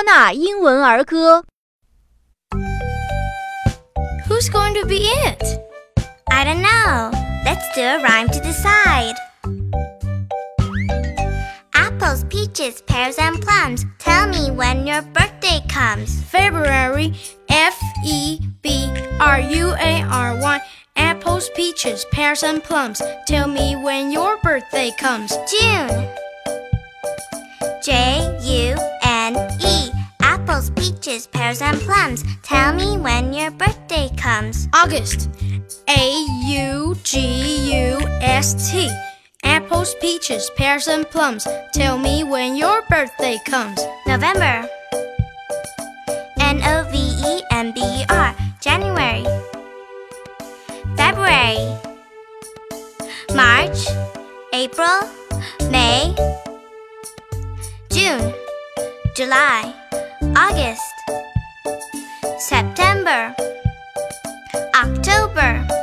纳英文儿歌。 Who's going to be it? I don't know. Let's do a rhyme to decide. Apples, peaches, pears, and plums. Tell me when your birthday comes. February, February. Apples, peaches, pears, and plums. Tell me when your birthday comes. June, June. Apples, peaches, pears, and plums. Tell me when your birthday comes. August, August. Apples, peaches, pears, and plums. Tell me when your birthday comes. November, November. January, February. March, April, May. June, July, August. September, October.